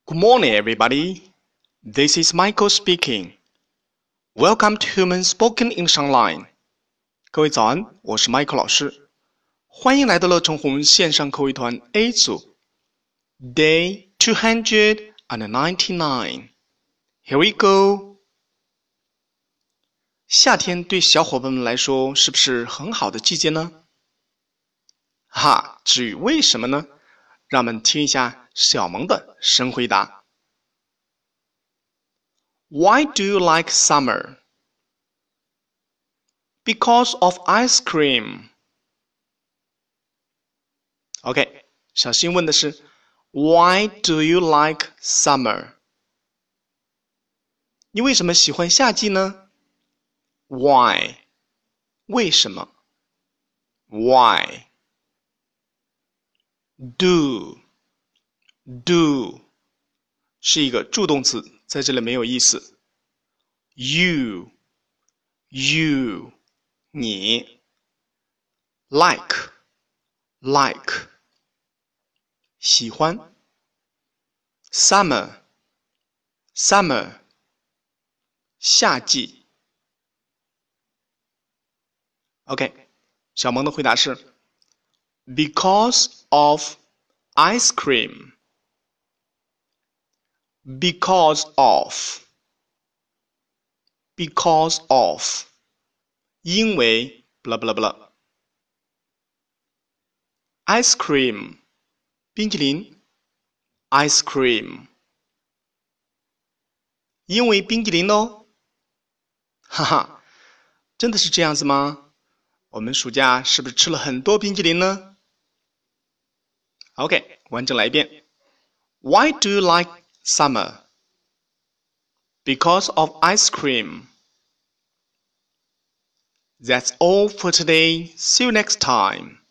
Good morning, everybody. This is Michael speaking. Welcome to Human Spoken English Online. 各位早安，我是 Michael 老师，欢迎来到乐成红线上口语团 A 组 Day 299. Here we go. 夏天对小伙伴们来说是不是很好的季节呢？至于为什么呢？让我们听一下小萌的神回答。Why do you like summer? Because of ice cream. OK, 小新问的是 Why do you like summer? 你为什么喜欢夏季呢？ Why? 为什么？ Why? Do 是一个助动词，在这里没有意思。You 你 like 喜欢 summer 夏季。 OK， 小萌的回答是 Because of ice cream. Because of 因为 blah blah blah. Ice cream 冰淇淋 Ice cream 因为冰淇淋哦。真的是这样子吗？我们暑假是不是吃了很多冰淇淋呢？ OK， 完整来一遍。 Why do you like summer? Because of ice cream. That's all for today. See you next time.